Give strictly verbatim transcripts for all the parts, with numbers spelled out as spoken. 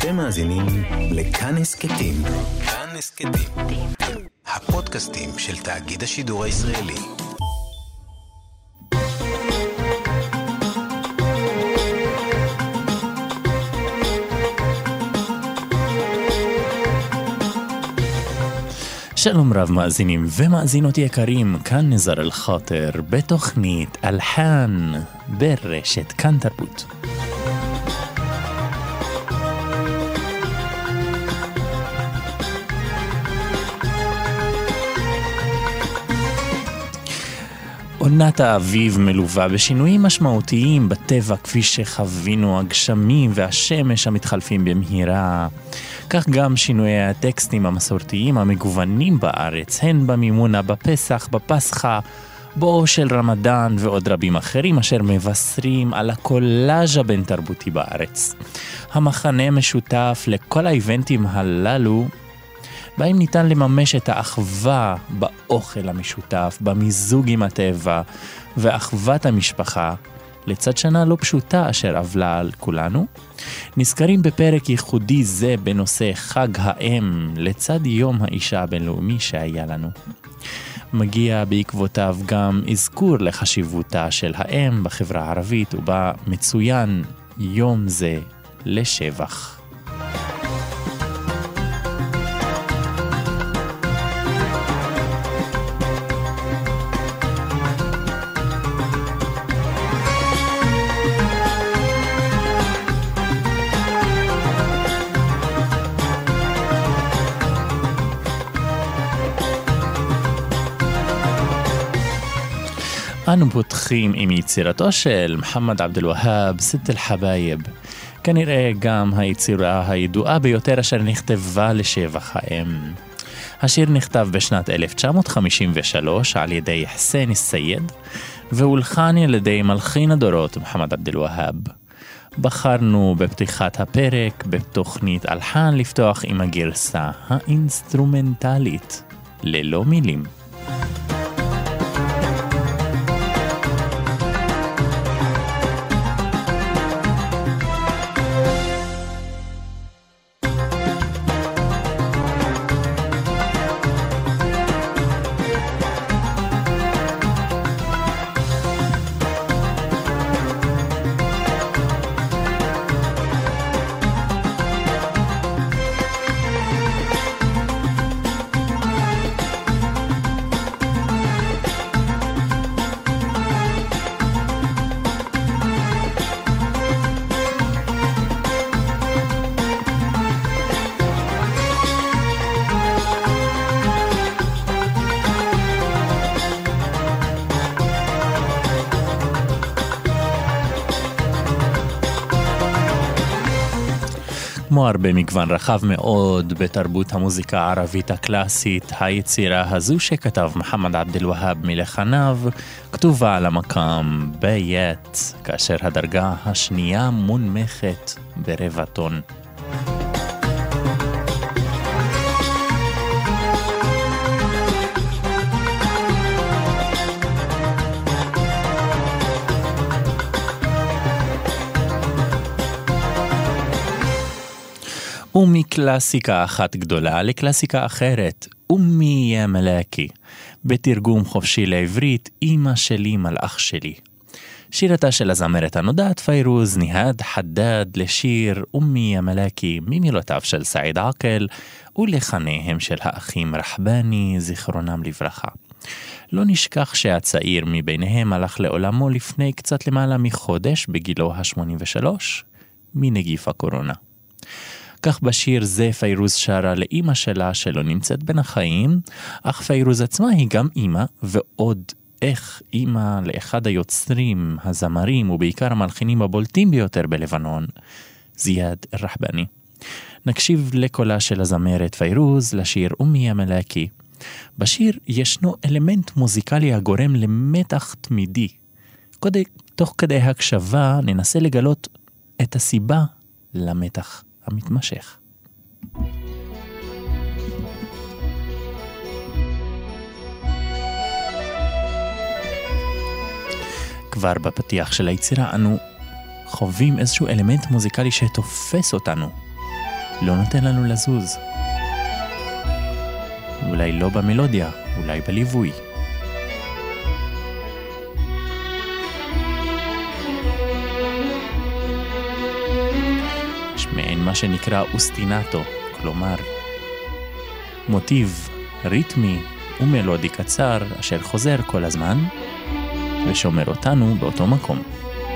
אתם מאזינים לכאן הסכתים. כאן הסכתים. הפודקאסטים של תאגיד השידור הישראלי. שלום רב מאזינים ומאזינות יקרים, כאן נזר אל-חאטר בתוכנית אלחן ברשת כאן תרבות. עונת האביב מלווה בשינויים משמעותיים בטבע כפי שחווינו הגשמים והשמש המתחלפים במהירה. כך גם שינויי הטקסטים המסורתיים המגוונים בארץ, הן במימונה, בפסח, בפסחה, בואו של רמדאן ועוד רבים אחרים אשר מבשרים על הקולאז' הבין תרבותי בארץ. המחנה משותף לכל האיבנטים הללו בהם ניתן לממש את האחווה באוכל המשותף, במיזוג עם הטבע ואחוות המשפחה, לצד שנה לא פשוטה אשר עבלה על כולנו. נזכרים בפרק ייחודי זה בנושא חג האם, לצד יום האישה הבינלאומי שהיה לנו. מגיע בעקבותיו גם אזכור לחשיבותה של האם בחברה הערבית, ובה מצוין יום זה לשבח. אנו פותחים עם יצירתו של מוחמד עבד אל-והאב, סת אל-חבאיב, כנראה גם היצירה הידועה ביותר אשר נכתבה לשבח האם. השיר נכתב בשנת אלף תשע מאות חמישים ושלוש על ידי חסן אל-סייד, והולחן על ידי מלחין הדורות מוחמד עבד אל-והאב. בחרנו בפתיחת הפרק בתוכנית אלחן לפתוח עם הגרסה האינסטרומנטלית, ללא מילים. כמו הרבה מגוון רחב מאוד בתרבות המוזיקה הערבית הקלאסית, היצירה הזו שכתב מוחמד עבד אל-והאב מלחניו כתובה על המקם בית, כאשר הדרגה השנייה מונמכת ברבע טון. ומקלאסיקה אחת גדולה לקלאסיקה אחרת, אומי יא מלאקי, בתרגום חופשי לעברית, אמא שלי מלאך שלי. שירתה של הזמרת הנודעת פיירוז ניהד חדד לשיר אומי יא מלאקי ממילותיו של סעיד עקל ולחניהם של האחים רחבני זיכרונם לברכה. לא נשכח שהצעיר מביניהם הלך לעולמו לפני קצת למעלה מחודש בגילו ה-שמונים ושלוש מנגיף הקורונה. כך בשיר זה פיירוז שרה לאמא שלה שלא נמצאת בין החיים, אך פיירוז עצמה היא גם אמא, ועוד איך אמא לאחד היוצרים, הזמרים ובעיקר המלחינים הבולטים ביותר בלבנון, זיאד אל-רחבני. נקשיב לקולה של הזמרת פיירוז לשיר אומי יא מלאקי. בשיר ישנו אלמנט מוזיקלי הגורם למתח תמידי. כדי, תוך כדי הקשבה ננסה לגלות את הסיבה למתח המתמשך. כבר בפתיח של היצירה אנו חווים איזשהו אלמנט מוזיקלי שתופס אותנו. לא נותן לנו לזוז. אולי לא במלודיה, אולי בליווי. יש מעין מה שנקרא אוסטינטו, כלומר מוטיב ריתמי ומלודי קצר אשר חוזר כל הזמן ושומר אותנו באותו מקום.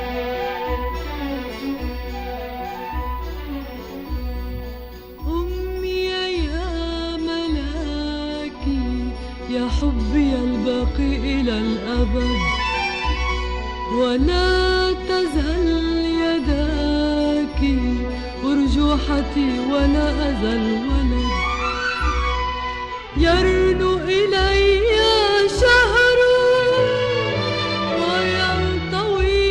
حبي الباقي إلى الأبد ولا تزل يداك أرجوحتي ولا أزل ولد يرنو إلي شهر وينطوي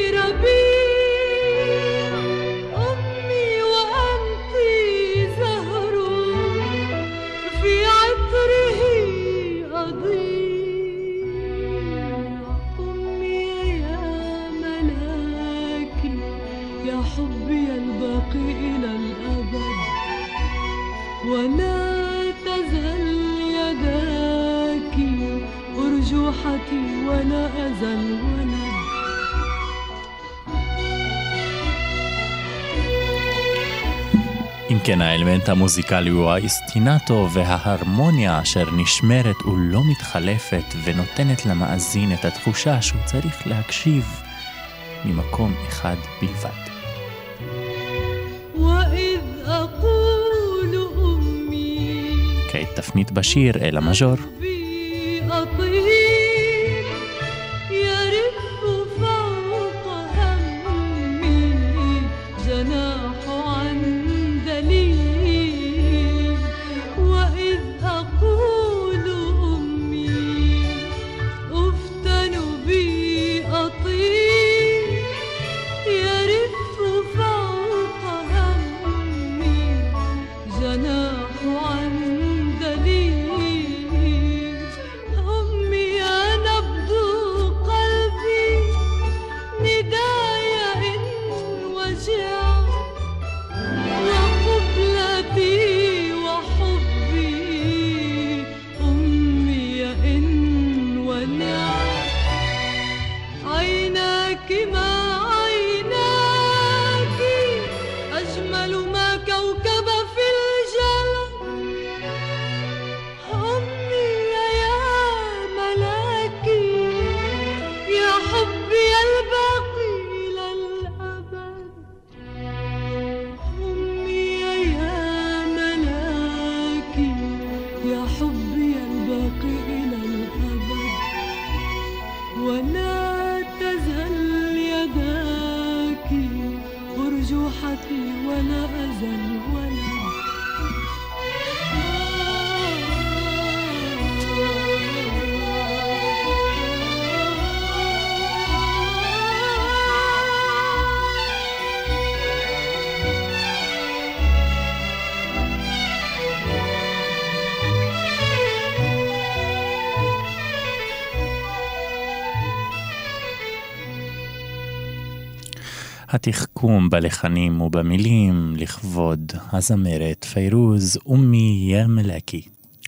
ربيع أمي وأنت زهر في عطره حبي الباقي إلى الأبد ولا تزل يداك أرجوحتي ولا أزل ولد אם כן, האלמנט המוזיקלי הוא האסטינטו וההרמוניה אשר נשמרת ולא מתחלפת ונותנת למאזין את התחושה שהוא צריך להקשיב ממקום אחד בלבד. כעת תפנית בשיר אל המז'ור. התחכום בלחנים ובמילים לכבוד הזמרת פיירוז אומי יא מלאקי.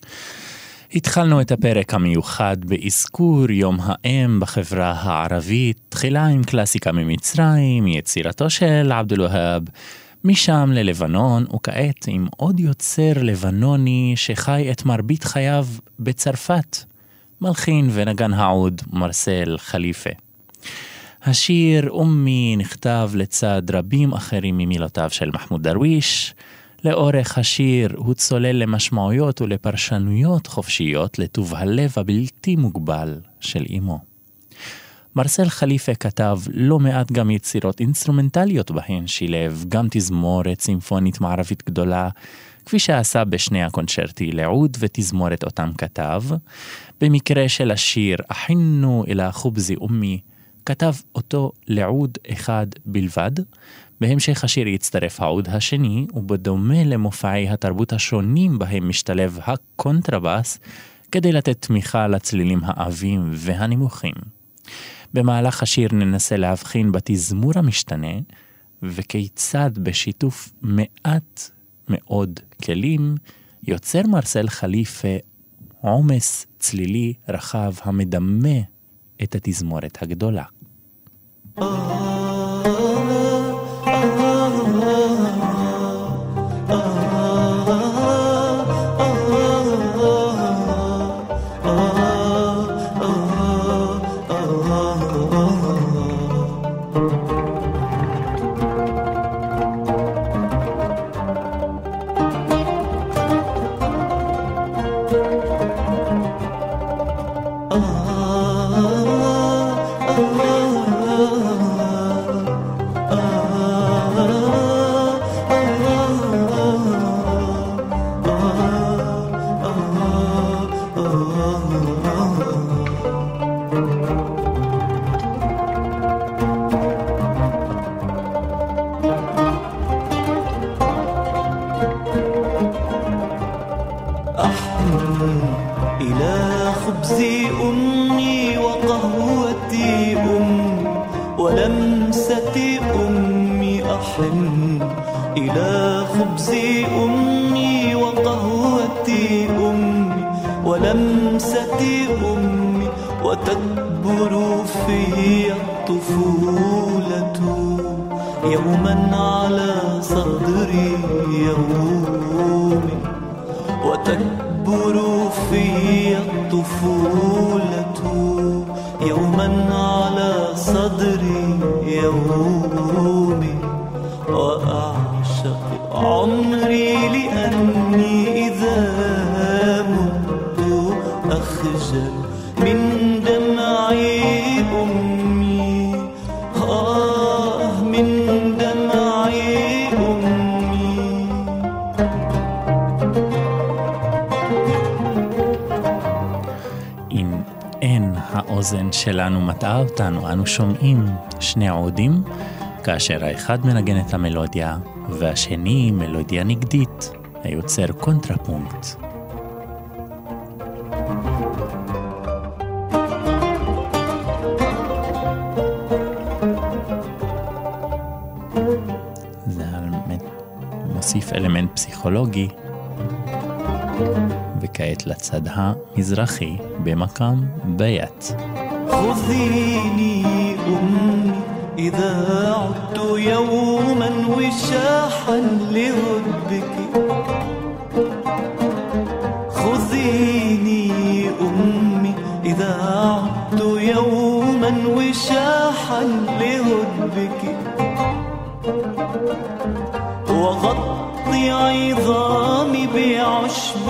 התחלנו את הפרק המיוחד באזכור יום האם בחברה הערבית, תחילה עם קלאסיקה ממצרים, יצירתו של עבד אל-והאב, משם ללבנון, וכעת עם עוד יוצר לבנוני שחי את מרבית חייו בצרפת, מלחין ונגן העוד מרסל חליפה. השיר אומי נכתב לצד רבים אחרים ממילותיו של מחמוד דרוויש. לאורך השיר הוא צולל למשמעויות ולפרשנויות חופשיות לטוב הלב הבלתי מוגבל של אמו. מרסל חליפה כתב לא מעט גם יצירות אינסטרומנטליות בהן שילב גם תזמורת סימפונית מערבית גדולה, כפי שעשה בשני הקונצ'רטי לעוד ותזמורת אותם כתב. במקרה של השיר אחינו אל החובזי אומי, כתב אותו לעוד אחד בלבד. בהמשך השיר יצטרף העוד השני, ובדומה למופעי התרבות השונים בהם משתלב הקונטרבס, כדי לתת תמיכה לצלילים העבים והנמוכים. במהלך השיר ננסה להבחין בתזמור המשתנה, וכיצד בשיתוף מעט מעוד כלים, יוצר מרסל חליפה עומס צלילי רחב המדמה את התזמורת הגדולה. האוזן שלנו מטעה אותנו, אנו שומעים שני עודים, כאשר האחד מנגן את המלודיה, והשני מלודיה נגדית, היוצר קונטרפונקט. זה מוסיף אלמנט פסיכולוגי, וכעת לצד המזרחי במקם בית. خذيني أمي إذا عدت يوما وشاحا لهدبك خذيني أمي إذا عدت يوما وشاحا لهدبك وغطي عظامي بعشب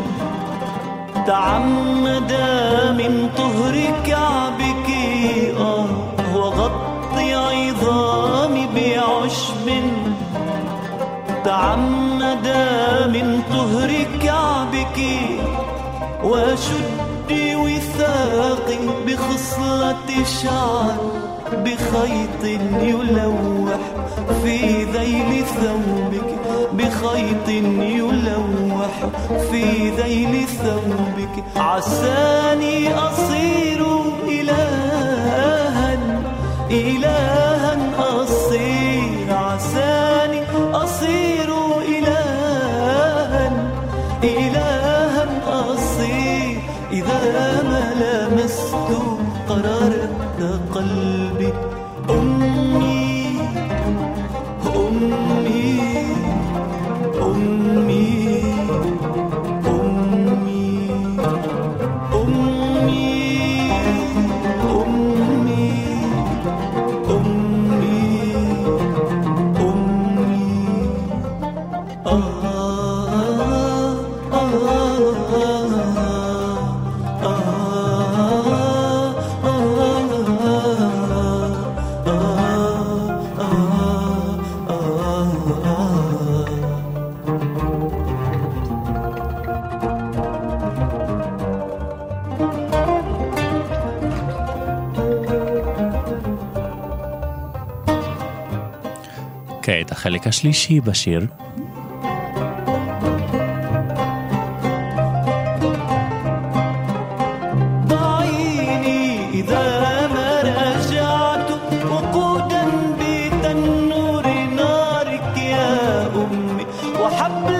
تعمد من طهر كعبك آه وغطي عظامي بعشب تعمد من طهر كعبك وشدي وثاقي بخصلة شعر بخيط يلوح في ذيل ثوبك بخيط يلوح في ذيل ثوبك عساني أصير إلها إلها أصير عساني أصير إلها إلها أصير إذا ما لمست قررت قلبي أمي أمي أمي أمي أمي أمي أمي أمي آه آه כעת החלק השלישי בשיר. وحب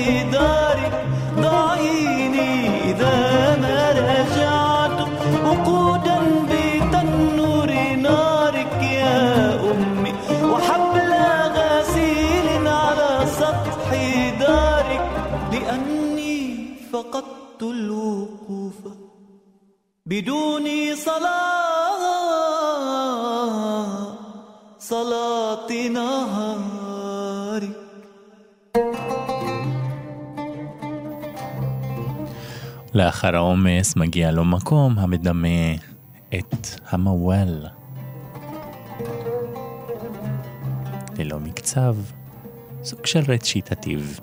دارك ضعيني إذا ما رجعت وقودا بتنور نارك يا أمي وحبل غسيل على سطح دارك لأني فقدت الوقوف بدون صلاة صلاة نهارك. לאחר העומס מגיע לו מקום המדמה את המוואל. ללא מקצב, סוג של רציטטיב.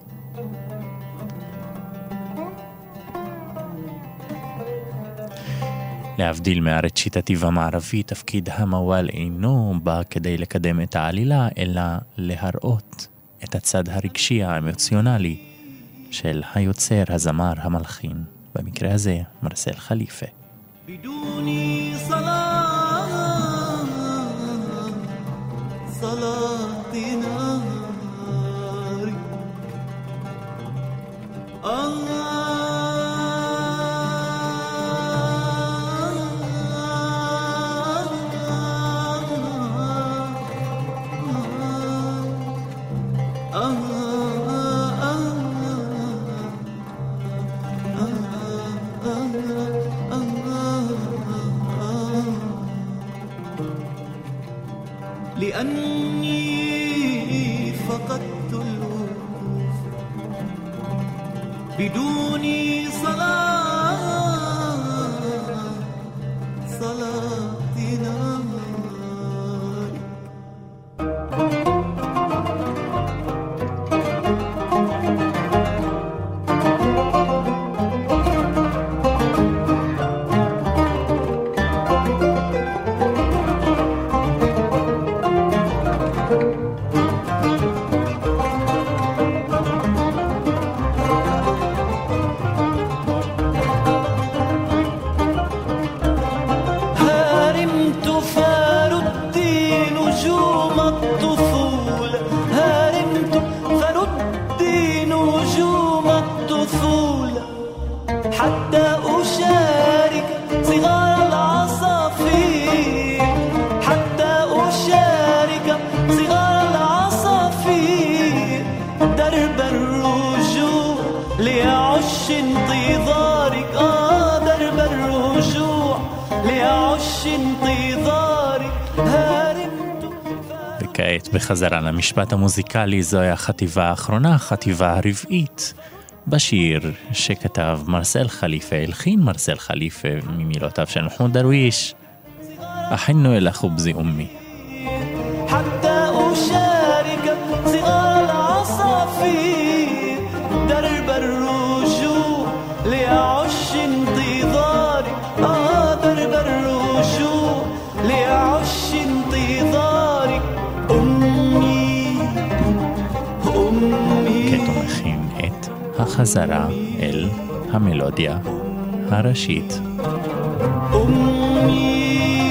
להבדיל מהרציטטיב המערבי, תפקיד המוואל אינו בא כדי לקדם את העלילה, אלא להראות את הצד הרגשי האמוציונלי של היוצר, הזמר, המלחין. במקרה הזה, מרסל חליפה. بدوني صلاة صلاة نهاري لأني فقدت الوقوف بدون صلاة صلاة نهاري. וכעת בחזרה למשפט המוזיקלי, זוהי החטיבה האחרונה, החטיבה הרבעית, בשיר שכתב מרסל חליפה, הלחין מרסל חליפה ממילותיו של מחמוד דרוויש, אחינו אל החובזי אומי. حتى أشارك صغار العصافير درب الرجوع لأعش انتظارك آه درب الرجوع لأعش انتظارك أمي أمي. כתומכים את החזרה אל המלודיה הראשית. أمي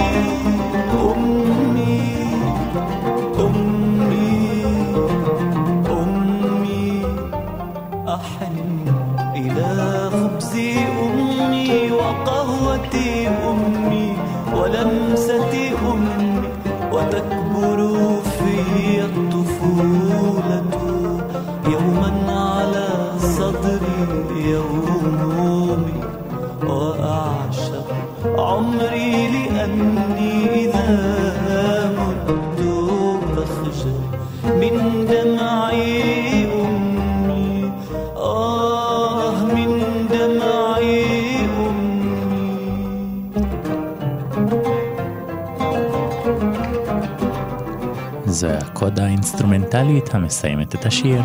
ولمسة أمي وتكبر في الطفولة يوما على صدري يومي وأعشق عمري لأني إذا مت بخجل من دمعي أمي آه من دمعي זו הקודה האינסטרומנטלית המסיימת את השיר.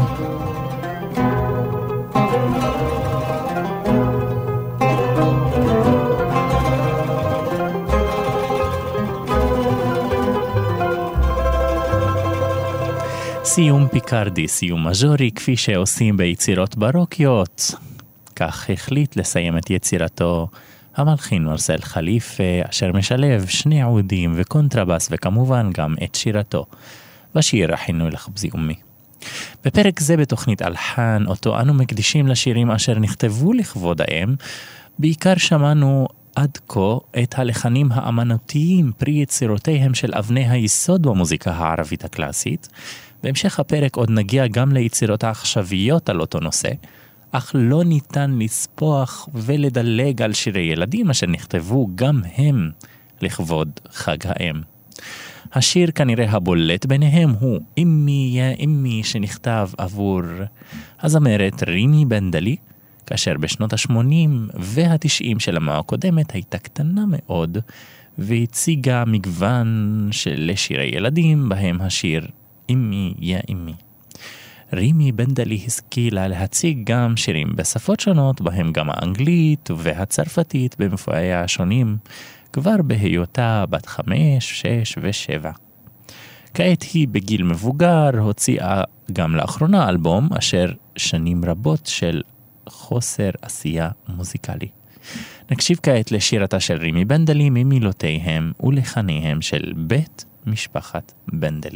סיום פיקרדי, סיום מז'ורי, כפי שעושים ביצירות ברוקיות. כך החליט לסיים את יצירתו המלחין מרסל חליפה, אשר משלב שני עודים וקונטרבס וכמובן גם את שירתו בשיר אחינו אל החובזי אומי. בפרק זה בתוכנית אלחן, אותו אנו מקדישים לשירים אשר נכתבו לכבוד האם, בעיקר שמענו עד כה את הלחנים האמנותיים פרי יצירותיהם של אבני היסוד במוזיקה הערבית הקלאסית. בהמשך הפרק עוד נגיע גם ליצירות העכשוויות על אותו נושא, אך לא ניתן לספוח ולדלג על שירי ילדים אשר נכתבו גם הם לכבוד חג האם. השיר כנראה הבולט ביניהם הוא אמי יא אמי, שנכתב עבור הזמרת רימי בנדלי, כאשר בשנות ה-שמונים וה-תשעים של המאה הקודמת הייתה קטנה מאוד, והציגה מגוון של שירי ילדים, בהם השיר אמי יא אמי. רימי בנדלי השכילה להציג גם שירים בשפות שונות, בהם גם האנגלית והצרפתית במופעיה השונים, כבר בהיותה בת חמש, שש ושבע. כעת היא בגיל מבוגר הוציאה גם לאחרונה אלבום אשר שנים רבות של חוסר עשייה מוזיקלי. נקשיב כעת לשירתה של רימי בנדלי ממילותיהם ולחניהם של בית משפחת בנדלי.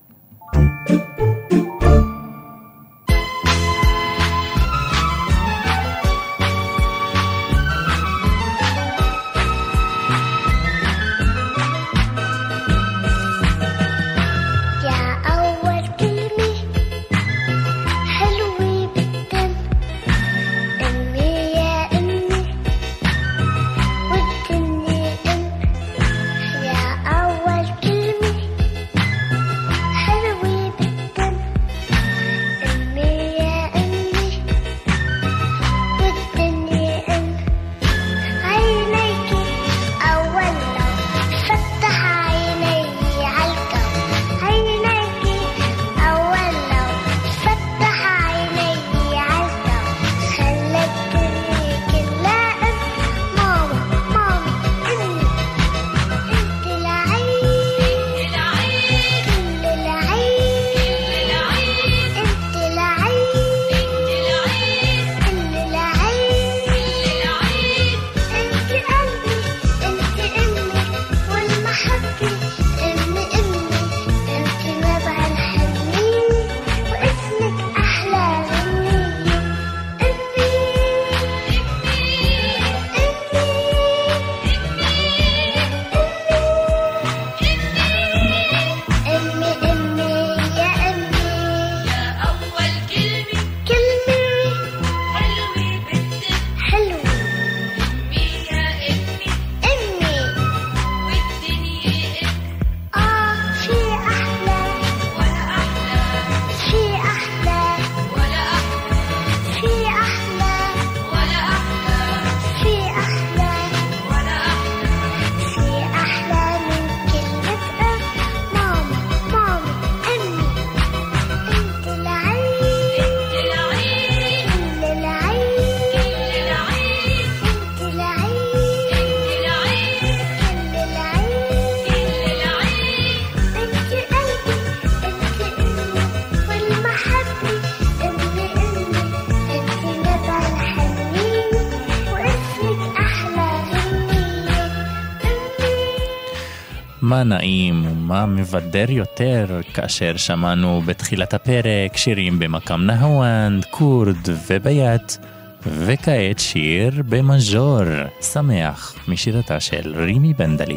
מה נעים ומה מבדר יותר כאשר שמענו בתחילת הפרק שירים במקם נהוונד, קורד וביית, וכעת שיר במז'ור שמח משירתה של רימי בנדלי.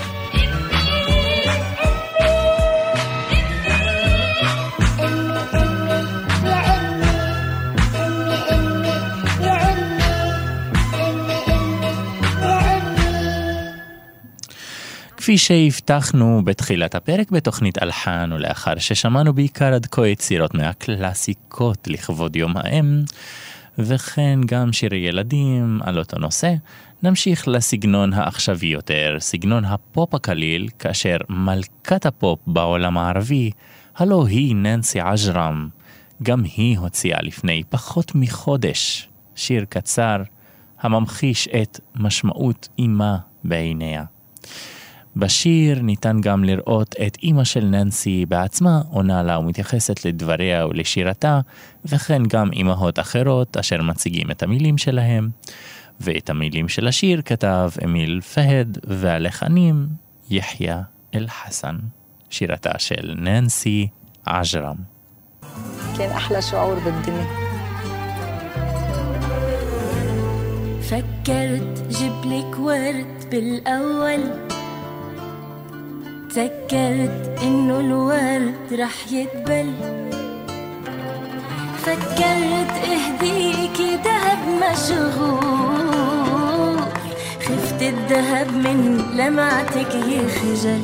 כפי שהבטחנו בתחילת הפרק בתוכנית אלחן, ולאחר ששמענו בעיקר עד כה יצירות מהקלאסיקות לכבוד יום האם, וכן גם שירי ילדים על אותו נושא, נמשיך לסגנון העכשווי יותר, סגנון הפופ הקליל, כאשר מלכת הפופ בעולם הערבי, הלא היא ננסי עג'רם, גם היא הוציאה לפני פחות מחודש שיר קצר הממחיש את משמעות אימה בעיניה. בשיר ניתן גם לראות את אמא של ננסי בעצמה עונה לה ומתייחסת לדבריה ולשירתה, וכן גם אמהות אחרות אשר מציגים את המילים שלהם. ואת המילים של השיר כתב אמיל פהד, והלחנים יחיא אל חסן, שירתה של ננסי עג'רם. ناسين أحلى شعور بالدنيا. فكرت جبلك ورد بالأول، تذكرت إنه الورد رح يدبل، فكرت اهديكي دهب مشغول، خفت الدهب من لمعتك يخجل.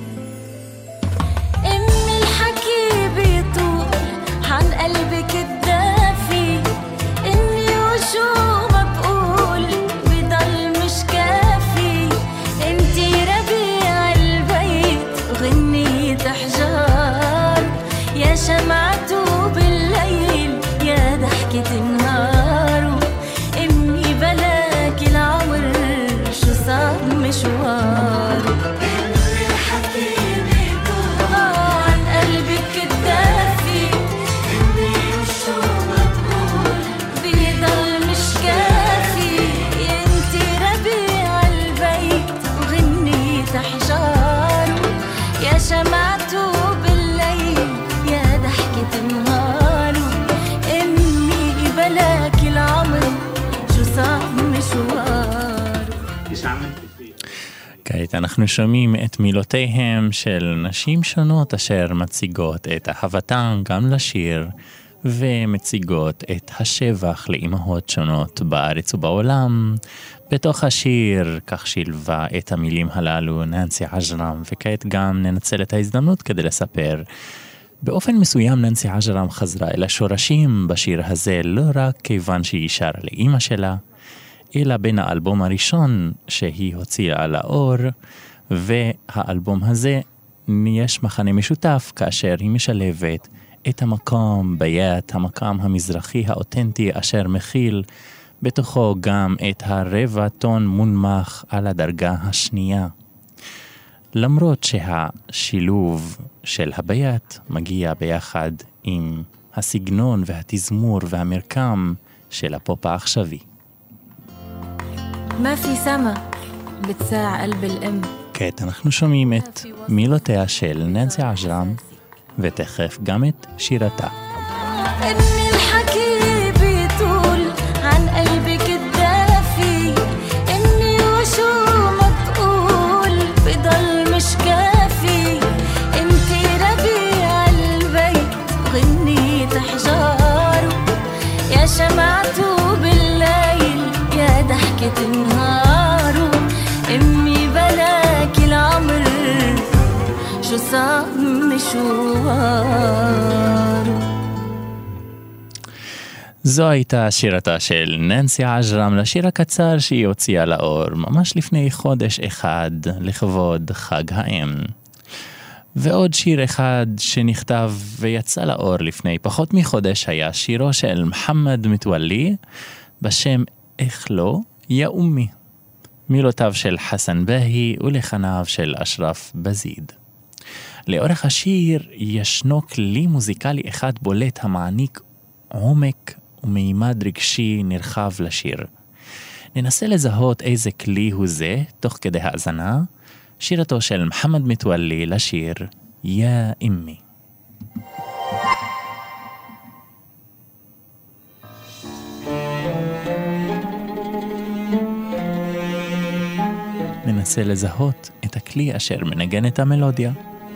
امي الحكي بيطول عن قلبك الدافي، اني وشو ما بقول بضل مش كافي. انتي ربيع البيت وغنية احجار، يا شمعته بالليل يا ضحكة النهار. امي بلاك العمر شو صعب مشوار. امي الحكي بيطول عن قلبك الدافي، اني وشو ما بقول بيضل مش كافي. انتي ربيع البيت وغنية احجار، يا شمعته بالليل يا ضحكة النهار. امي بلاك العمر شو صعب مشوار. כעת אנחנו שומעים את מילותיהם של נשים שונות אשר מציגות את אהבתן גם לשיר ומציגות את השבח לאימהות שונות בארץ ובעולם. בתוך השיר כך שילבה את המילים הללו ננסי עג'רם, וכעת גם ננצל את ההזדמנות כדי לספר. באופן מסוים ננסי עג'רם חזרה אל השורשים בשיר הזה, לא רק כיוון שהיא שרה לאמא שלה, אלא בין האלבום הראשון שהיא הוציאה לאור והאלבום הזה יש מחנה משותף, כאשר היא משלבת את המקום ביית, המקום המזרחי האותנטי אשר מכיל בתוכו גם את הרבע טון מונמך על הדרגה השנייה. למרות שהשילוב של הביית מגיע ביחד עם הסגנון והתזמור והמרקם של הפופ העכשווי. ما في سما بتساع قلب الأم. כעת אנחנו שומעים את מילותיה של ננסי עג'רם ותכף גם את שירתה. امي الحكي بيطول عن قلبك الدافي، اني وشو ما بقول بضل مش كافي. انتي ربيع البيت وغنية احجار، يا شمعته بالليل يا ضحكة النهار. امي بلاك العمر شو صعب مشوار. זו הייתה שירתה של ננסי עג'רם לשיר הקצר שהיא הוציאה לאור ממש לפני חודש אחד לכבוד חג האם. ועוד שיר אחד שנכתב ויצא לאור לפני פחות מחודש היה שירו של מוחמד מתוואלי בשם איך לא יא אומי, מילותיו של חסן בהי ולחניו של אשרף בזיד. לאורך השיר ישנו כלי מוזיקלי אחד בולט המעניק עומק ומימד רגשי נרחב לשיר. ננסה לזהות איזה כלי הוא זה תוך כדי האזנה. שירתו של מוחמד מתוואלי לשיר יא אמי. ננסה לזהות את הכלי אשר מנגן את המלודיה.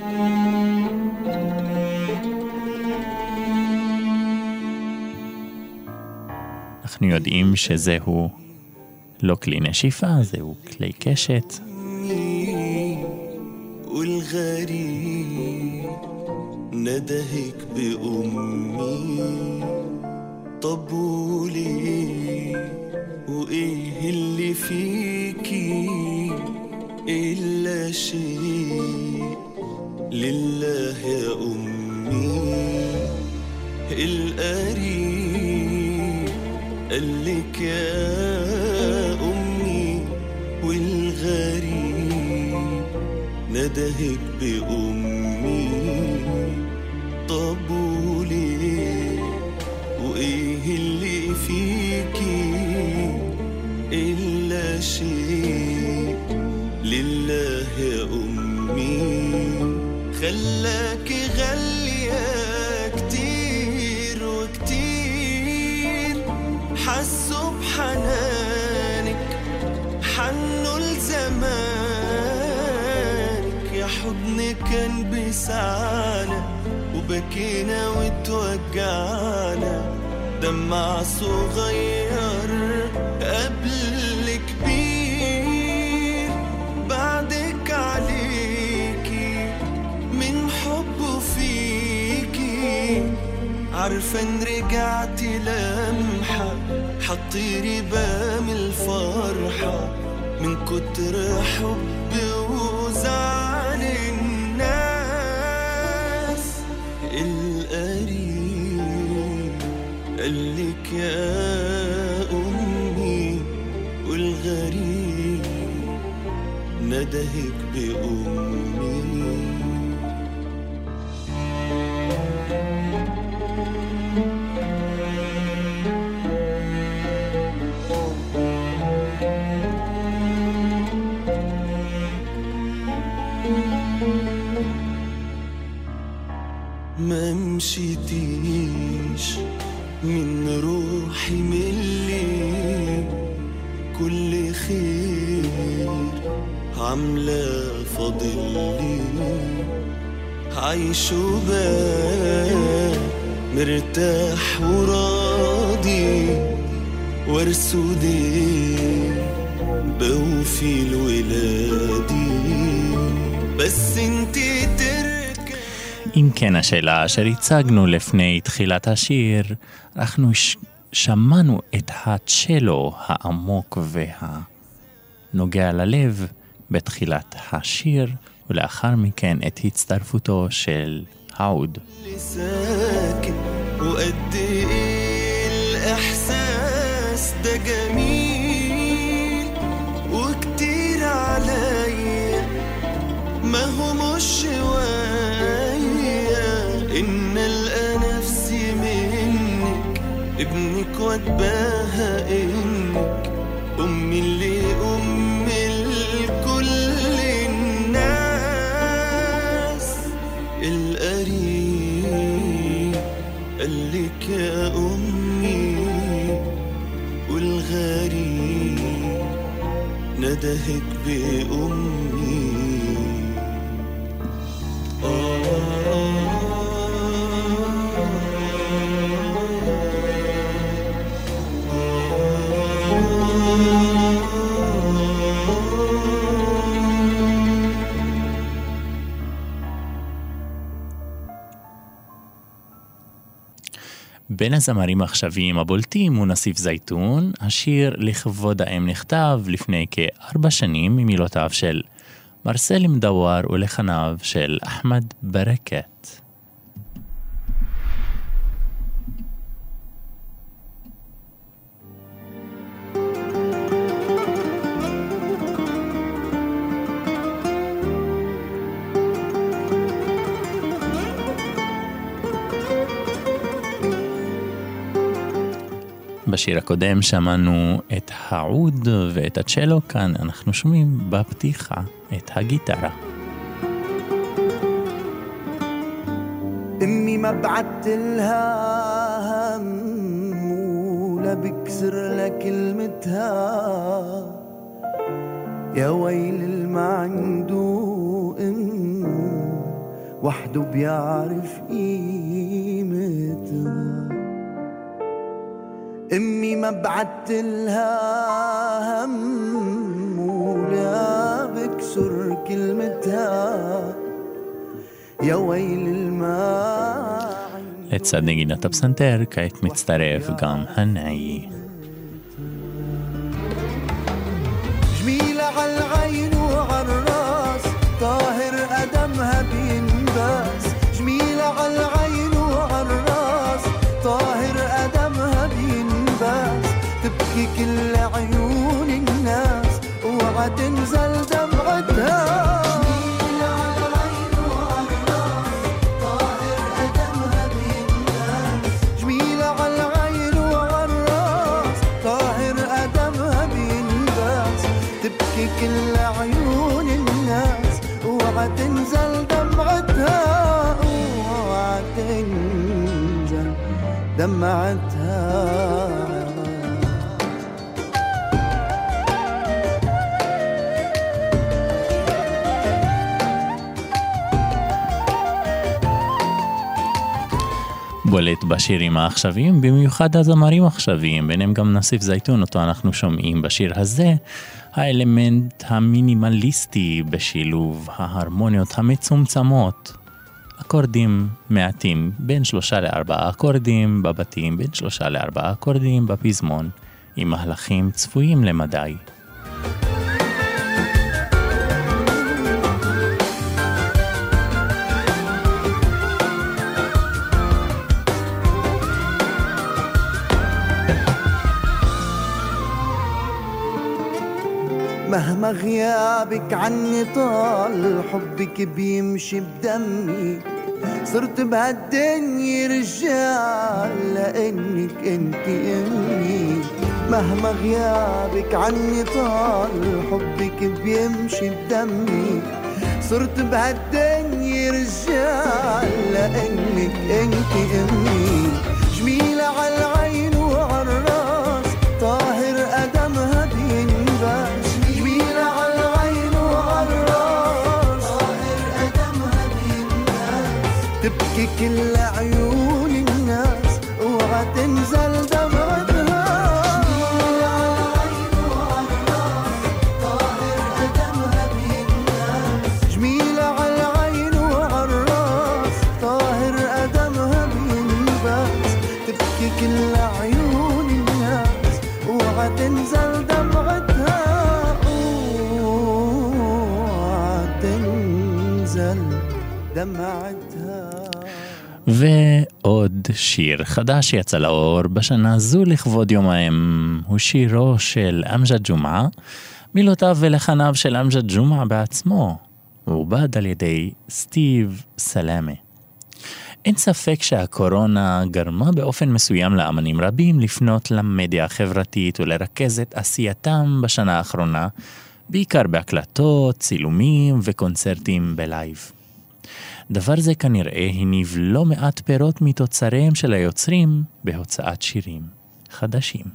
אנחנו יודעים שזהו לא כלי נשיפה, זהו כלי קשת. والغريب ندهك بأمي طبولي وإيه اللي فيكي إلا شيء لله يا أمي. القريب قالك يا أمي والغريب ندهك بأمي طبولي وإيه اللي فيكي إلا شيء لله يا أمي. خلاكي غالية كتير حنانك حنوا لزمانك يا حضن كان بيسعانا وبكينا وتوجعنا دمع صغير قبل كبير بعدك عليكي من حبه فيكي عارفة ان رجعتي لمحة حطيري بام الفرحة من كتر حبي وزعل الناس القريب قالك يا أمي والغريب ندهك بأمي ما مشيتيش من روحي ملي كل خير عاملة فاضلي عايش وبال مرتاح وراضي وارسودي بوفي الولادي بس انتي تركي. אם כן השאלה אשר הצגנו לפני תחילת השיר, אנחנו שמענו את הצ'לו העמוק והנוגע ללב בתחילת השיר, ולאחר מכן את הצטרפותו של העוד. وقد ايه الاحساس ده جميل وكتير عليا ما هو مش شوية ان القى نفسي منك ابنك واتباهى انك امي اللي ام الكل الناس القريب قالك يا امي والغريب ندهك بامي בין הזמרים העכשוויים הבולטים הוא נסיף זייתון. השיר לכבוד האם נכתב לפני כארבע שנים ממילותיו של מרסל מדוואר ולחניו של אחמד ברקת. בשיר הקודם שמענו את העוד ואת הצ'לו, כאן אנחנו שומעים בפתיחה את הגיטרה. امي ما بعت لها هم ولا بكسر لها كلمتها يا ويل الما عنده ام وحده بيعرف قيمتها. امي ما بعت لها هم ولا بكسر كلمتها يا ويل الماء. לצד נגינת הפסנתר כעת מצטרף גם הנאי. جميلة على العين وعلى الراس طاهر قدمها بينباس. جميلة على العين وعلى الراس طاهر قدمها بينباس. تبكي كل عيون الناس اوعى تنزل دمعتها. كل عيون الناس اوعى تنزل دمعتها اوعى تنزل دمعتها. בולט בשירים העכשוויים, במיוחד הזמרים העכשוויים, ביניהם גם נסיף זייתון, אותו אנחנו שומעים בשיר הזה, האלמנט המינימליסטי בשילוב ההרמוניות המצומצמות, אקורדים מעטים, בין שלושה לארבעה אקורדים בבתים, בין שלושה לארבעה אקורדים בפזמון, עם מהלכים צפויים למדי. مهما غيابك عني طال حبك بيمشي بدمي صرت بهالدنيا رجال لأنك انت امي مهما غيابك عني طال حبك بيمشي بدمي صرت بهالدنيا رجال لأنك انت امي جميلة عالعين وعالراس طاهر قدمها بينباس تبكي كل عيون الناس وغتنزل دمعتها جميلة عالعين وعالراس طاهر قدمها بينباس جميلة عالعين وعالراس طاهر قدمها بينباس تبكي كل عيون الناس وغتنزل دمعتها وغتنزل دمعتها. ועוד שיר חדש יצא לאור בשנה זו לכבוד יום האם, הוא שירו של אמג'ד ג'ומעה, מילותיו ולחניו של אמג'ד ג'ומעה בעצמו, הוא עובד על ידי סטיב סלאמה. אין ספק שהקורונה גרמה באופן מסוים לאמנים רבים לפנות למדיה החברתית ולרכז את עשייתם בשנה האחרונה, בעיקר בהקלטות, צילומים וקונצרטים בלייב. דבר זה כנראה הניב לא מעט פירות מתוצריהם של היוצרים בהוצאת שירים חדשים.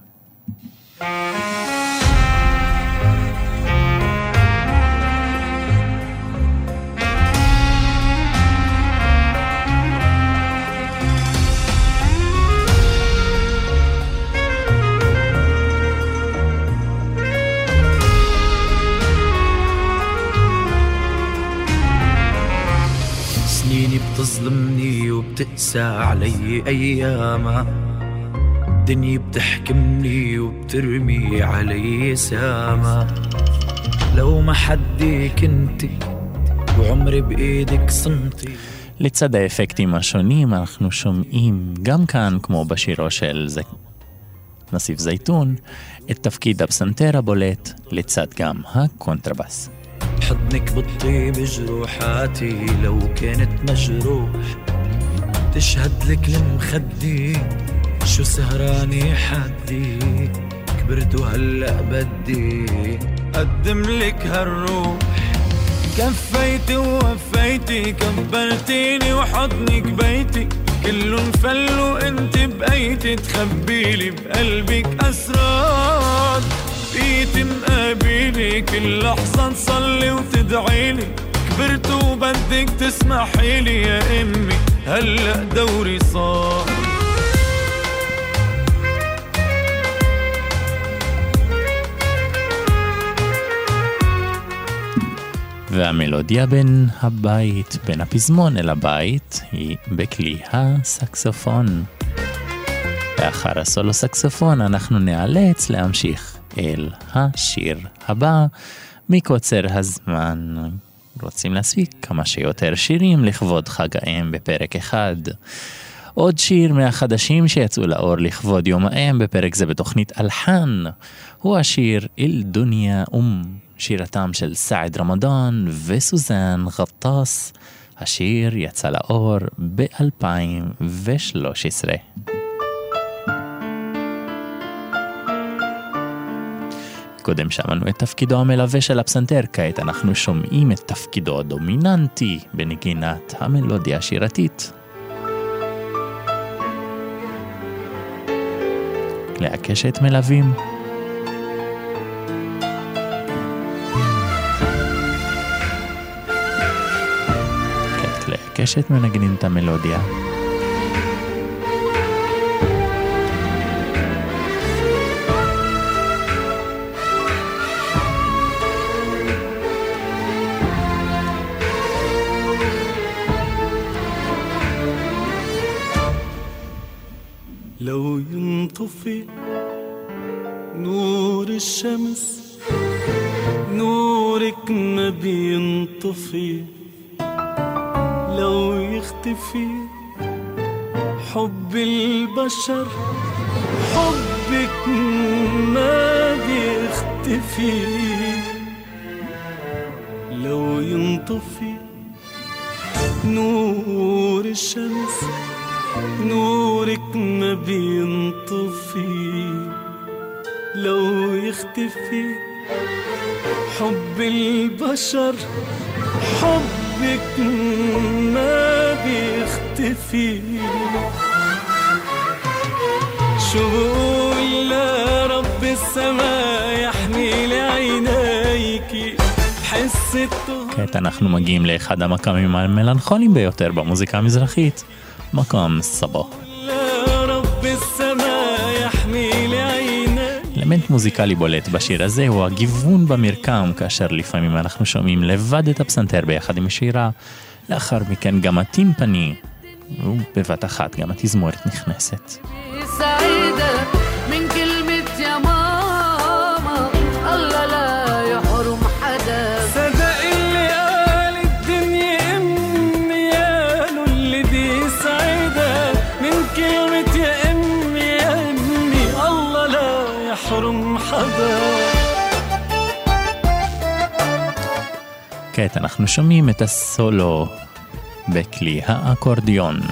سنيني بتظلمني وبتقسى علي أيامها دنيا بتحكمني وبترمي علي ساما لو ما حدي كنتي وعمري بإيدك صمتي. לצד האפקטים השונים אנחנו שומעים גם כאן, כמו בשירו של זה... נסיף זייתון, את תפקיד הפסנתר הבולט לצד גם הקונטרבאס. حضنك بالطيب جروحاتي لو كانت مجروح تشهد لك المخدي شو سهراني حدي كبرت وهلأ بدي قدم لك هالروح كفيتي ووفيتي كبرتيني وحضنك بيتي كله انفل وانت بقيتي تخبيلي بقلبك أسرار بقيتي مقابلي كل لحظة تصلي وتدعيلي كبرت وبدك تسمحيلي يا امي هلأ دوري صار והמלודיה בין הבית, בין הפזמון אל הבית, היא בכלי הסקסופון. לאחר הסולו סקסופון אנחנו נאלץ להמשיך אל השיר הבא. מקוצר הזמן רוצים להספיק כמה שיותר שירים לכבוד חג האם בפרק אחד. עוד שיר מהחדשים שיצאו לאור לכבוד יום האם בפרק זה בתוכנית אלחן, הוא השיר אל דוניה אום, שירתם של סעד רמדאן וסוזן גטאס. השיר יצא לאור ב-אלפיים ושלוש עשרה. קודם שמענו את תפקידו המלווה של הפסנתר, כעת אנחנו שומעים את תפקידו הדומיננטי בנגינת המלודיה השירתית. כלי הקשת מלווים. כעת כלי הקשת מנגנים את המלודיה. لو ينطفي نور الشمس نورك ما بينطفي، لو يختفي حب البشر حبك ما بيختفي، لو ينطفي نور الشمس نورك ما بينطفي، لو يختفي حب البشر حبك ما بيختفي. شو بقول لرب السماء يحمي לעינייki حس الطهر. כעת אנחנו מגיעים לאחד המקאמים המלנכוליים ביותר במוזיקה המזרחית, מקום סבו. לרב السماء يحمي לעינייki. אלמנט מוזיקלי בולט בשיר הזה הוא הגיוון במרקם, כאשר לפעמים אנחנו שומעים לבד את הפסנתר ביחד עם השירה, לאחר מכן גם הטימפני, ובבת אחת גם התזמורת נכנסת. سعيدة من كلمة يا ماما الله لا يحرم حدا. صدق اللي قال الدنيا امي قالوا اللي دي سعيدة من كلمة يا امي يا امي الله لا يحرم حدا. כעת אנחנו שומעים את הסולו בכלי האקורדיון.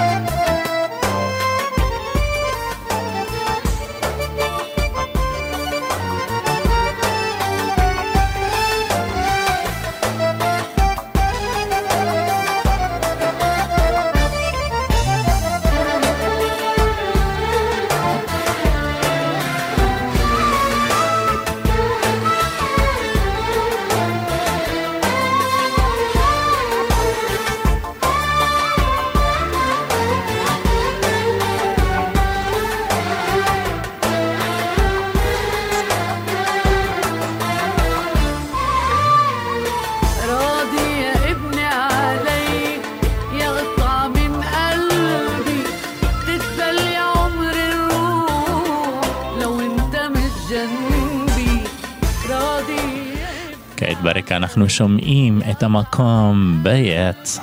ברקע אנחנו שומעים את המקום בית.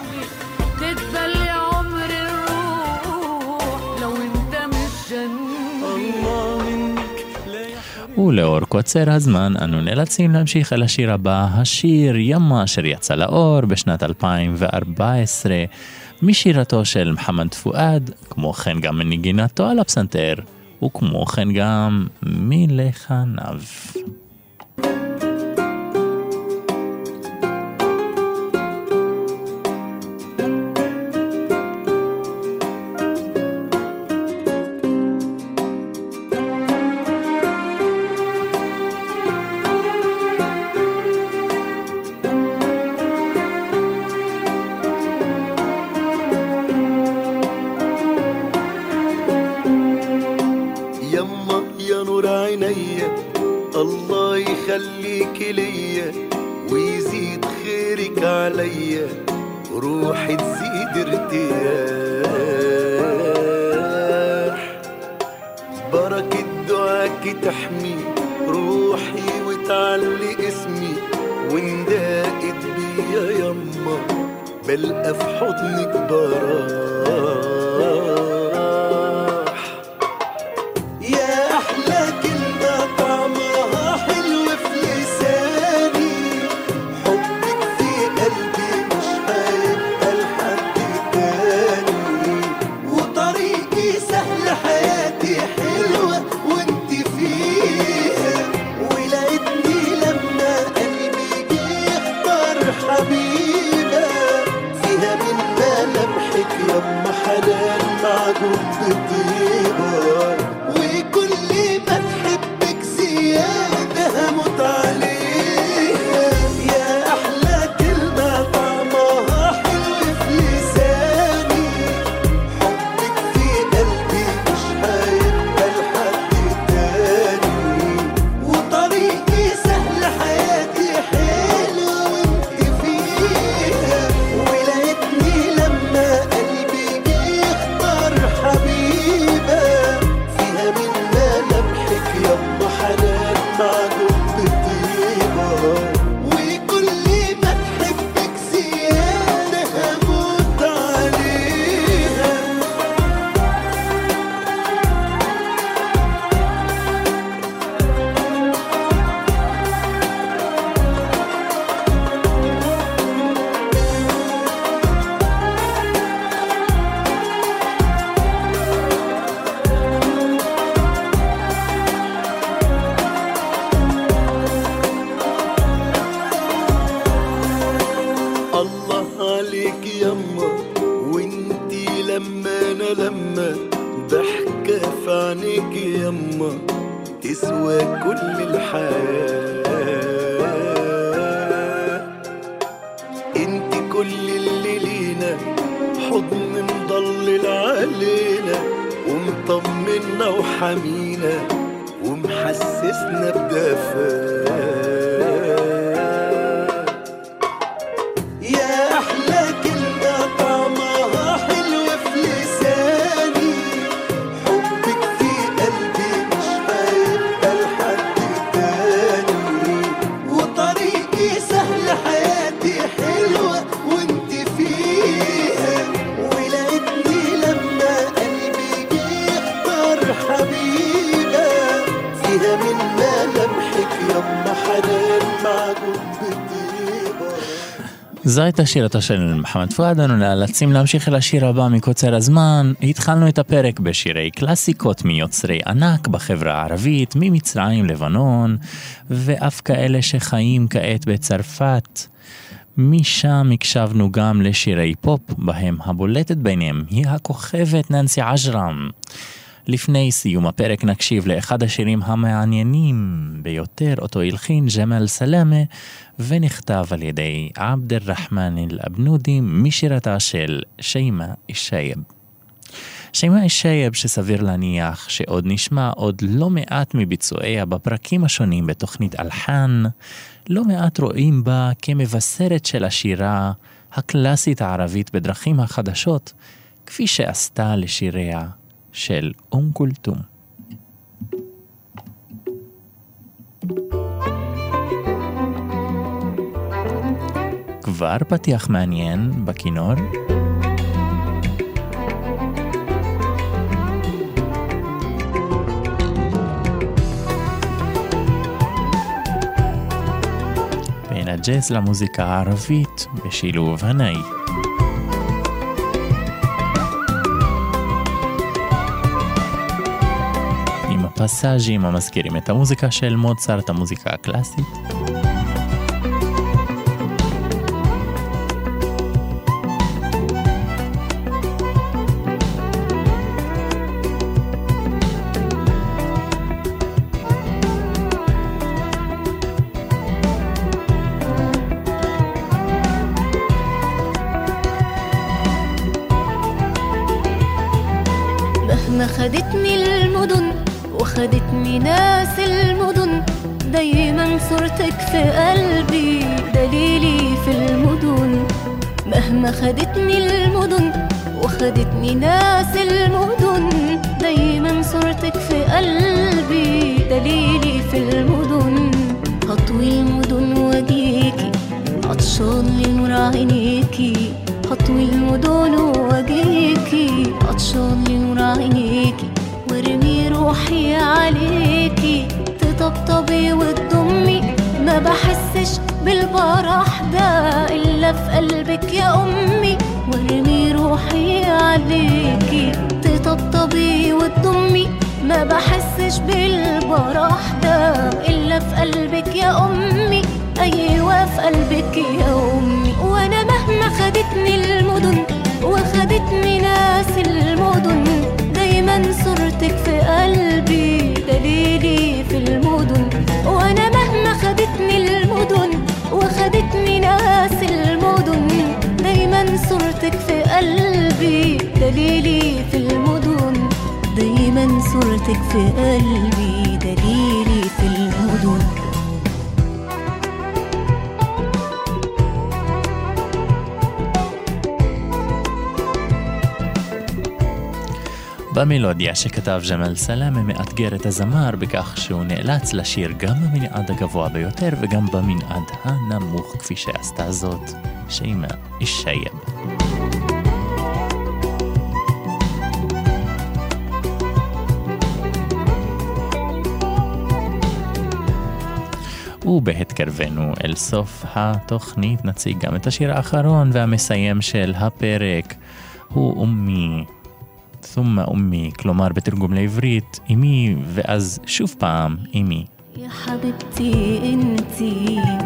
ולאור קוצר הזמן אנו נאלצים להמשיך אל השיר הבא, השיר ימה אשר יצא לאור בשנת אלפיים וארבע עשרה משירתו של מוחמד פואד, כמו כן גם מנגינתו על הפסנתר וכמו כן גם מלחניו. الله يخليك ليا ويزيد خيرك عليا روحي تزيد ارتياح بركة دعاك تحمي روحي وتعلي اسمي ونداقت بيا يما بلقى في حضنك براح يا أحلى كلمة طعمها حلو في لساني حبك في قلبي مش هيبقى لحد تاني وطريقي سهل حياتي حلوة وانت فيها ولقيتني لما قلبي جه يختار حبيبة فيها من ملامحك يما حنان معجون بطيبة وكل ما تحبك زيادة هموت عليها يا أحلى كلمة طعمها حلو في لساني حبك في قلبي مش هيبقى لحد تاني وطريقي سهل حياتي حلوة وانت فيها ولقيتني لما قلبي جه يختار حبيبة أمانة لما ضحكة في عينيك يما تسوى كل الحياة. انت كل اللي لينا، حضن مضلل علينا ومطمنا وحمينا ومحسسنا بدفاء. يا أحلى كلمة طعمها حلو في لساني، حبك في قلبي مش هيبقى لحد تاني، وطريقي سهل حياتي حلوة وانت فيها، ولقيتني لما قلبي بيختار حبيبة فيها من ملامحك يما حنان معجون بطيبة. זו הייתה שירתו של מחמד פואד. אנו נאלצים להמשיך אל השיר הבא מקוצר הזמן. התחלנו את הפרק בשירי קלאסיקות מיוצרי ענק בחברה הערבית, ממצרים, לבנון, ואף כאלה שחיים כעת בצרפת. משם הקשבנו גם לשירי פופ, בהם הבולטת ביניהם היא הכוכבת ננסי עג'רם. לפני סיום הפרק נקשיב לאחד השירים המעניינים ביותר, אותו הלחין ג'מאל סלאמה ונכתב על ידי עבד אל-רחמן אל-אבנודי משירתה של שיימה אל-שייב. שיימה אל-שייב שסביר להניח שעוד נשמע עוד לא מעט מביצועיה בפרקים השונים בתוכנית אלחן, לא מעט רואים בה כמבשרת של השירה הקלאסית הערבית בדרכים החדשות, כפי שעשתה לשיריה של אום כולתום. כבר פתיח מעניין בכינור. בין הג'אז למוזיקה הערבית בשילוב הנאי. פסאז'ים המזכירים את המוזיקה של מוצרט, המוזיקה הקלאסית. مهما خدتني المدن وخدتني ناس المدن، دايما صورتك في قلبي دليلي في المدن. مهما خدتني المدن وخدتني ناس المدن، دايما صورتك في قلبي دليلي في المدن. هطوي المدن واجيكي عطشان لنور عينيكي، هطوي المدن واجيكي عطشان لنور عينيكي، وارمي روحي عليكي تطبطبي وتضمي، ما بحسش بالبرح ده إلا في قلبك يا أمي. وارمي روحي عليكي تطبطبي وتضمي، ما بحسش بالبرح ده إلا في قلبك يا أمي. أيوة في قلبك يا أمي. وأنا مهما خدتني المدن وخدتني ناس المدن، دايما صورتك في قلبي دليلي في المدن. وانا مهما خدتني المدن وخدتني ناس المدن، دايما صورتك في قلبي دليلي في المدن. دايما صورتك في قلبي دليلي في المدن. במלודיה שכתב ג'מאל סלאמה מאתגר את הזמר בכך שהוא נאלץ לשיר גם במנעד הגבוה ביותר וגם במנעד הנמוך, כפי שעשתה זאת שיימה אל-שייב. ובהתקרבנו אל סוף התוכנית נציג גם את השיר האחרון והמסיים של הפרק, הוא אומי ثم أمي, כלומר בתרגום לעברית אמי ואז שוב פעם אמי.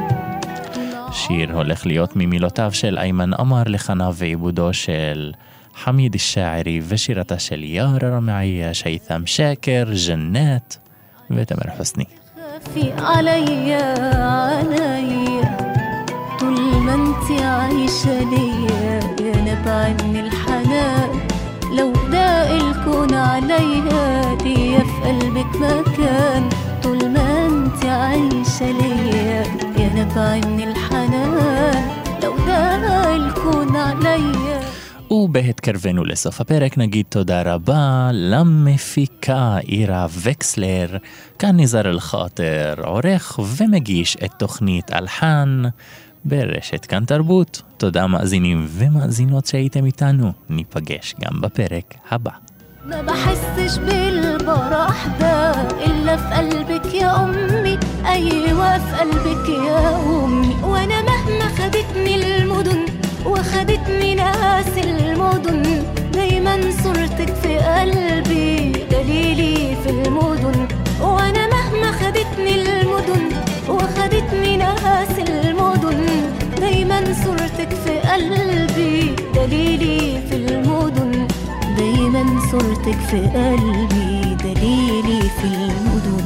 שיר הולך להיות ממילותיו של איימן עמר לחנה ועיבודו של حميد الشاعري وشيرة של يارا رمعية شيثم شاكر جنات وتامر حسني. خافي عليا عليا طول ما انت عايشة ليا يا نبع من الحنان لو داق الكون عليا ليا في قلبك مكان طول ما انت عايشة ليا يا نبع من الحنان لو داق الكون عليا. ובהתקרבנו לסוף הפרק נגיד תודה רבה למפיקה אירה וקסלר, כאן ניזר אל-חאטר, עורך ומגיש את תוכנית אלחן ברשת כאן תרבות. תודה מאזינים ומאזינות שהייתם איתנו, ניפגש גם בפרק הבא. ما بحسش بالبراح ده إلا في قلبك يا أمي أيوة في قلبك يا أمي وأنا مهما خدتني المدن وخدتني ناس المدن دايما صورتك في قلبي دليلي في المدن وأنا مهما خدتني المدن وخدتني ناس المدن دايما صورتك في قلبي دليلي في المدن دايما صورتك في قلبي دليلي في المدن.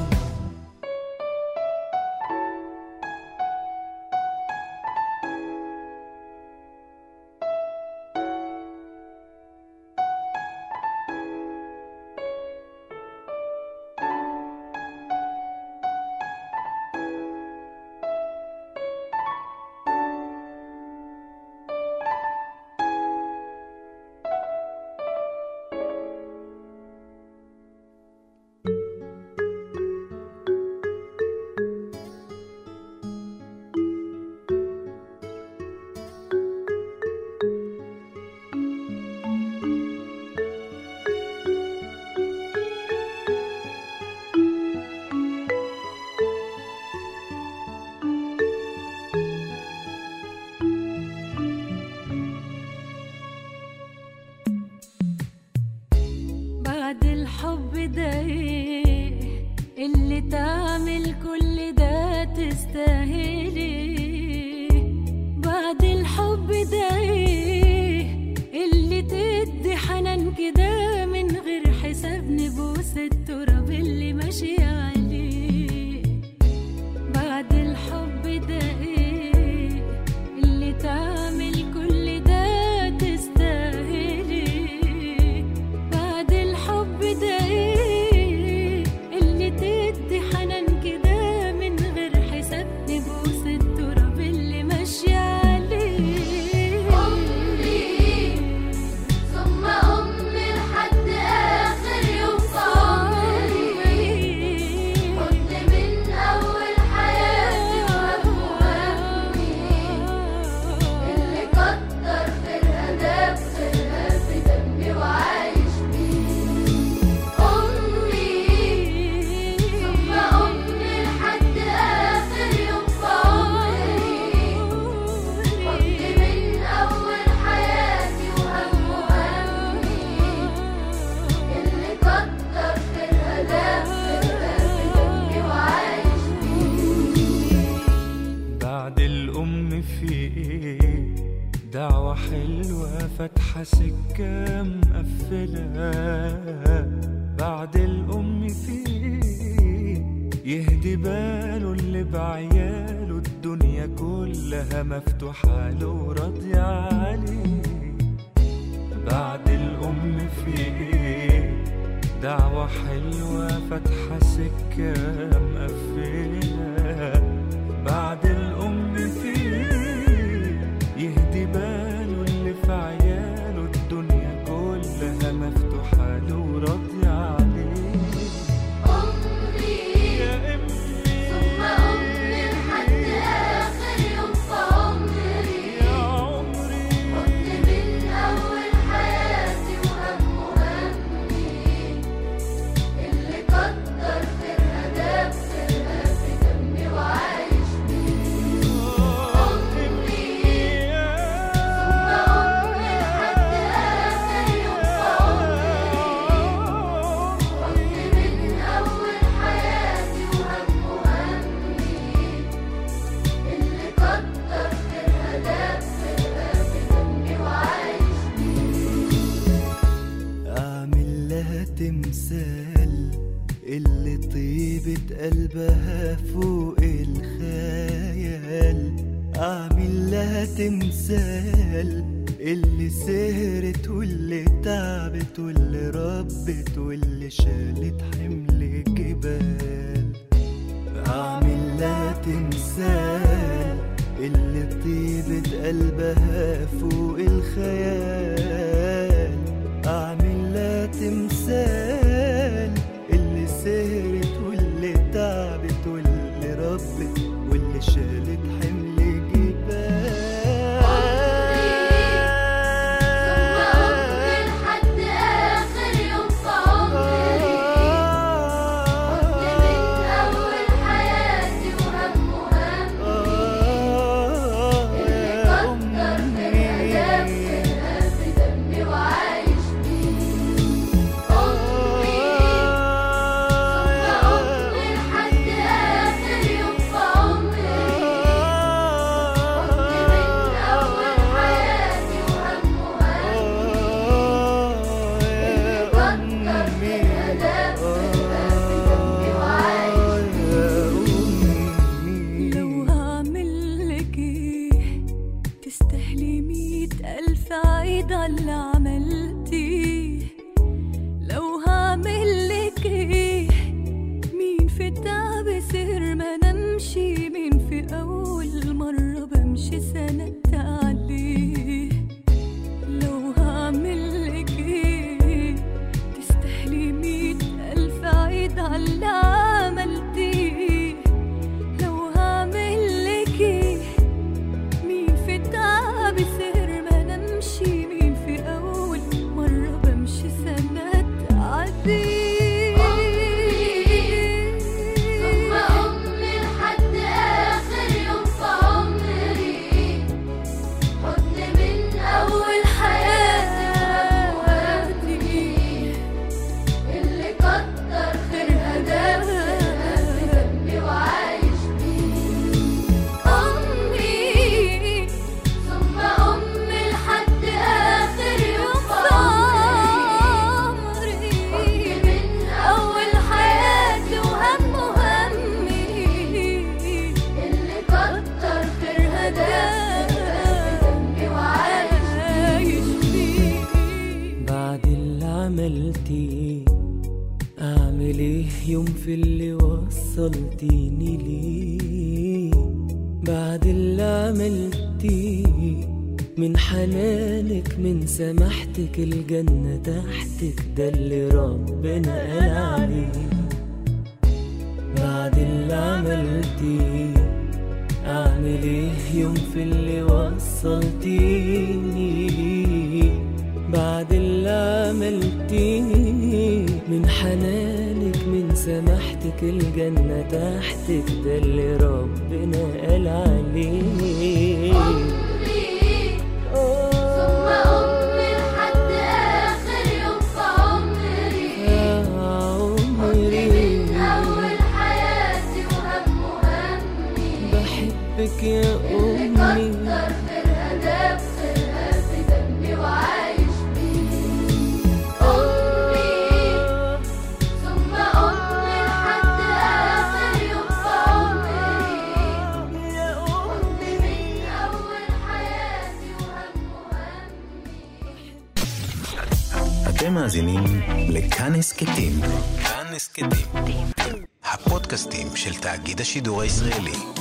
فاتحة سكة مقفلة بعد الأم فيه يهدي باله اللي بعياله الدنيا كلها مفتوحة له وراضية عليه بعد الأم فيه دعوة حلوة فاتحة سكة مقفلة بعد الأم فيه يهدي باله اللي في عياله الدنيا كلها مفتوحة له وراضية عليه أمي يا أمي ثم أمي لحد آخر يوم في عمري يا عمري كنت من أول حياتي وهم همي اللي كتر خيرها داب خيرها في دمي وعايش بيه أمي ثم أمي لحد آخر يوم في عمري تمثال اللي طيبة قلبها فوق الخيال. أعمل لها تمثال اللي سهرت واللي تعبت واللي ربت واللي شالت حمل جبال. أعمل لها تمثال اللي طيبة قلبها فوق الخيال. أعمل لها تمثال اللي سهرت واللي تعبت واللي ربت واللي شالت حمل جبال. يوم في اللي وصلتيني ليه بعد اللي عملتيه من حنانك من سماحتك الجنة تحتك ده اللي ربنا قال عليه بعد اللي عملتيه أعمل إيه يوم في اللي وصلتيني ليه بعد اللي عملتيه من حنانك من سماحتك الجنة تحتك ده اللي ربنا قال عليه أمي ثم أمي لحد آخر يوم في عمري عمري من أول حياتي وهم همي بحبك يا اللي أمي كتر خيرها داب خيرها في دمي وعايش بيه أمي ثم أمي لحد آخر يوم في عمري أمي من أول حياتي وهم همي. אתם מאזינים לכאן הסכתים. כאן הסכתים. הפודקאסטים של תאגיד השידור הישראלי.